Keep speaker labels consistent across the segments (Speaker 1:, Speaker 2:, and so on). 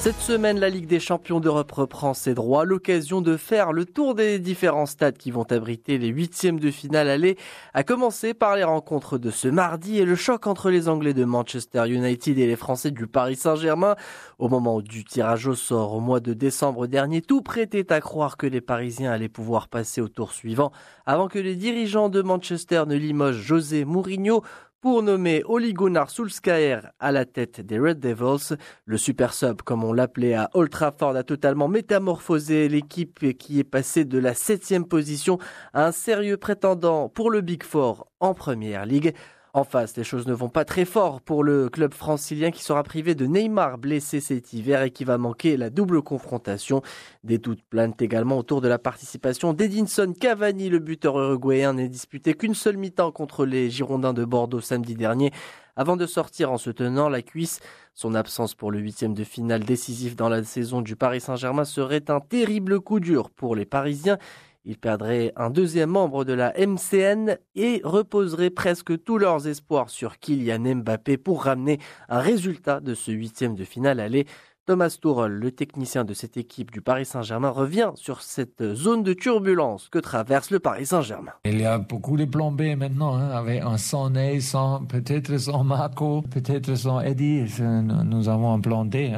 Speaker 1: Cette semaine, la Ligue des champions d'Europe reprend ses droits. L'occasion de faire le tour des différents stades qui vont abriter les huitièmes de finale aller, à commencer par les rencontres de ce mardi et le choc entre les Anglais de Manchester United et les Français du Paris Saint-Germain. Au moment du tirage au sort au mois de décembre dernier, tout prêtait à croire que les Parisiens allaient pouvoir passer au tour suivant avant que les dirigeants de Manchester ne limogent José Mourinho pour nommer Ole Gunnar Solskjaer à la tête des Red Devils. Le super sub, comme on l'appelait à Old Trafford, a totalement métamorphosé l'équipe qui est passée de la 7e position à un sérieux prétendant pour le Big Four en Première Ligue. En face, les choses ne vont pas très fort pour le club francilien qui sera privé de Neymar blessé cet hiver et qui va manquer la double confrontation. Des doutes planent également autour de la participation d'Edinson Cavani. Le buteur uruguayen n'est disputé qu'une seule mi-temps contre les Girondins de Bordeaux samedi dernier avant de sortir en se tenant la cuisse. Son absence pour le 8e de finale décisif dans la saison du Paris Saint-Germain serait un terrible coup dur pour les Parisiens. Ils perdraient un deuxième membre de la MCN et reposeraient presque tous leurs espoirs sur Kylian Mbappé pour ramener un résultat de ce 8e de finale aller. Thomas Tuchel, le technicien de cette équipe du Paris Saint-Germain, revient sur cette zone de turbulence que traverse le Paris Saint-Germain.
Speaker 2: Il y a beaucoup de plans B maintenant, avec un sans Ney, peut-être sans Marco, peut-être sans Eddie. Nous avons un plan D.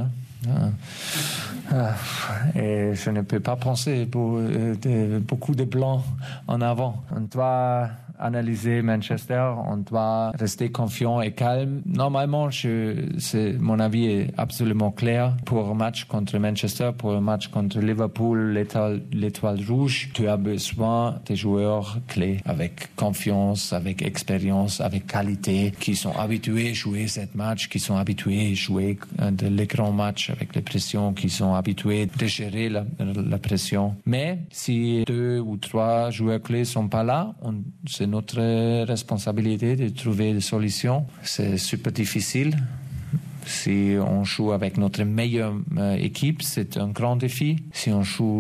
Speaker 2: Et je ne peux pas penser pour beaucoup de plans en avant. On doit analyser Manchester, on doit rester confiant et calme. Normalement, mon avis est absolument clair. Pour un match contre Manchester, pour un match contre Liverpool, l'étoile rouge, tu as besoin des joueurs clés avec confiance, avec expérience, avec qualité, qui sont habitués à jouer cette match, qui sont habitués à jouer les grands matchs avec les pressions, qui sont habitués à gérer la pression. Mais si 2 ou 3 joueurs clés sont pas là, c'est notre responsabilité de trouver des solutions. C'est super difficile. Si on joue avec notre meilleure équipe, c'est un grand défi. Si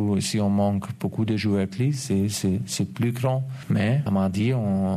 Speaker 2: on manque beaucoup de joueurs clés, c'est plus grand. Mais à mardi,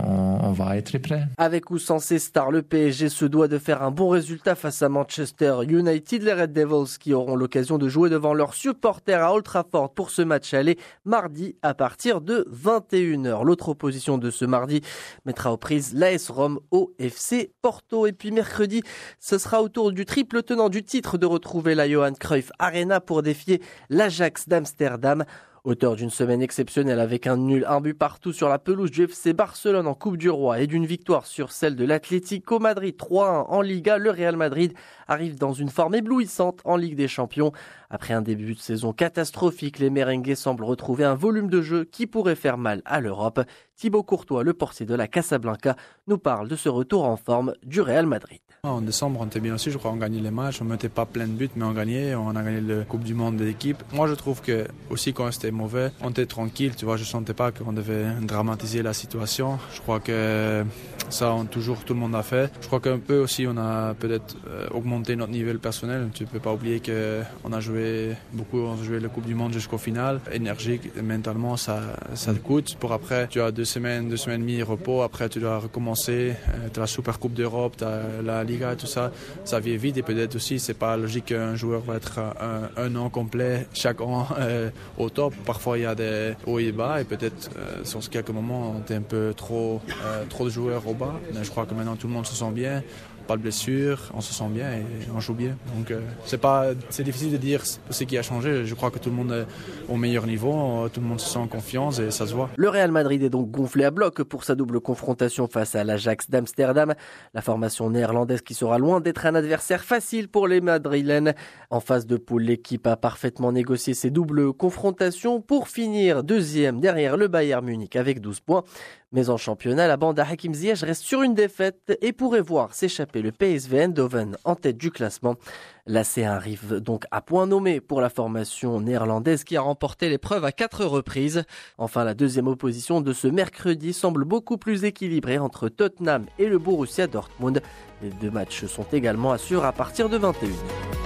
Speaker 2: on va être prêt.
Speaker 1: Avec ou sans ses stars, le PSG se doit de faire un bon résultat face à Manchester United. Les Red Devils qui auront l'occasion de jouer devant leurs supporters à Old Trafford pour ce match aller mardi à partir de 21h. L'autre opposition de ce mardi mettra aux prises l'AS Rome au FC Porto. Et puis mercredi, ce sera au tour du triple tenant du titre de retrouver la Johan Cruyff Arena pour défier l'Ajax d'Amsterdam. Auteur d'une semaine exceptionnelle avec un nul, un but partout sur la pelouse du FC Barcelone en Coupe du Roi et d'une victoire sur celle de l'Atlético Madrid 3-1 en Liga, le Real Madrid arrive dans une forme éblouissante en Ligue des Champions. Après un début de saison catastrophique, les merengues semblent retrouver un volume de jeu qui pourrait faire mal à l'Europe. Thibaut Courtois, le portier de la Casablanca, nous parle de ce retour en forme du Real Madrid.
Speaker 3: En décembre, on était bien aussi, je crois, on gagnait les matchs, on ne mettait pas plein de buts, mais on gagnait, on a gagné la Coupe du Monde de l'équipe. Moi, je trouve que, aussi quand c'était mauvais, on était tranquille, tu vois, je ne sentais pas qu'on devait dramatiser la situation. Je crois que ça, tout le monde a fait. Je crois qu'un peu aussi, on a peut-être augmenté notre niveau personnel. Tu ne peux pas oublier qu'on a joué beaucoup, on a joué la Coupe du Monde jusqu'au final. Énergique, mentalement, ça te coûte. Pour après, tu as 2 semaines et demie repos, après tu dois recommencer, tu as la Super Coupe d'Europe, tu as la Liga, tout ça, ça vient vite et peut-être aussi c'est pas logique qu'un joueur va être un an complet chaque an au top. Parfois il y a des hauts et bas et peut-être sur quelques moments on était un peu trop de joueurs au bas, mais je crois que maintenant tout le monde se sent bien. Pas de blessure, on se sent bien et on joue bien. Donc c'est difficile de dire ce qui a changé. Je crois que tout le monde est au meilleur niveau, tout le monde se sent en confiance et ça se voit.
Speaker 1: Le Real Madrid est donc gonflé à bloc pour sa double confrontation face à l'Ajax d'Amsterdam. La formation néerlandaise qui sera loin d'être un adversaire facile pour les Madrilènes. En phase de poule, l'équipe a parfaitement négocié ses doubles confrontations pour finir deuxième derrière le Bayern Munich avec 12 points. Mais en championnat, la bande à Hakim Ziyech reste sur une défaite et pourrait voir s'échapper le PSV Eindhoven en tête du classement. L'AC arrive donc à point nommé pour la formation néerlandaise qui a remporté l'épreuve à 4 reprises. Enfin, la deuxième opposition de ce mercredi semble beaucoup plus équilibrée entre Tottenham et le Borussia Dortmund. Les 2 matchs sont également à suivre à partir de 21h.